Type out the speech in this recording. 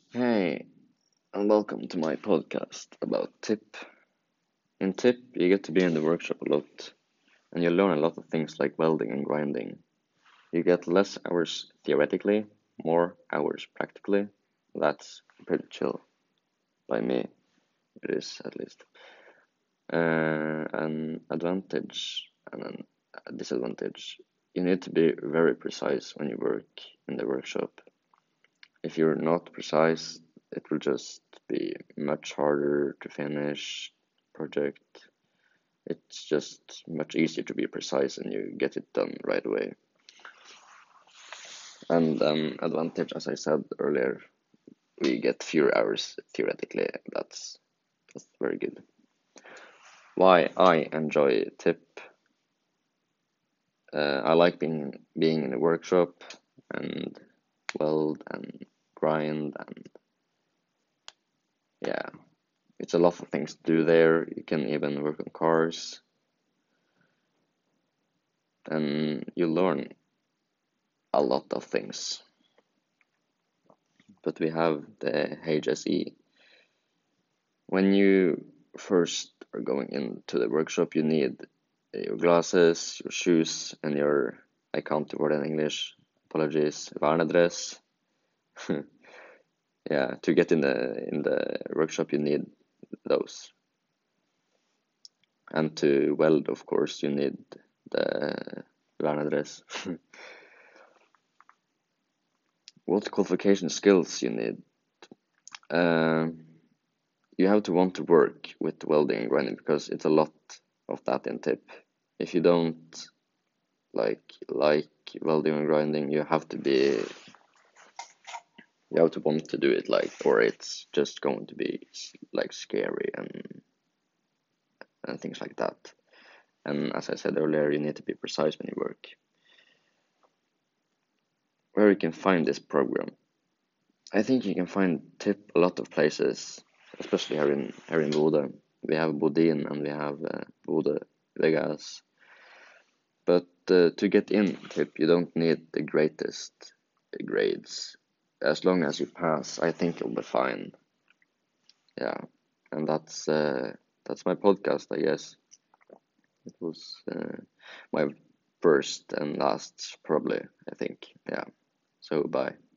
Hey, and welcome to my podcast about TIP. In TIP, you get to be in the workshop a lot, and you learn a lot of things like welding and grinding. You get less hours theoretically, more hours practically. That's pretty chill, by me. It is, at least. An advantage and a disadvantage. You need to be very precise when you work in the workshop. If you're not precise, it will just be much harder to finish project. It's just much easier to be precise and you get it done right away. And advantage, as I said earlier, we get fewer hours theoretically. That's very good. Why I enjoy TIP? I like being in a workshop and weld and grind and yeah, it's a lot of things to do there. You can even work on cars and you learn a lot of things. But we have the HSE. When you first are going into the workshop, you need your glasses, your shoes, and your, I can't the word in English, apologies, vernedress. Yeah, to get in the workshop, you need those. And to weld, of course, you need the vernedress. What qualification skills you need? Um, you have to want to work with welding and grinding because it's a lot of that in TIP. If you don't like welding and grinding, you have to want to do it, like, or it's just going to be like scary and things like that. And as I said earlier, you need to be precise when you work. Where you can find this program? I think you can find TIP a lot of places, especially here in Bodø. We have Bodin and we have Bodø Vegas. But to get in TIP, you don't need the greatest grades. As long as you pass, I think you'll be fine. Yeah, and that's my podcast, I guess. It was my first and last, probably, I think. Yeah. So bye.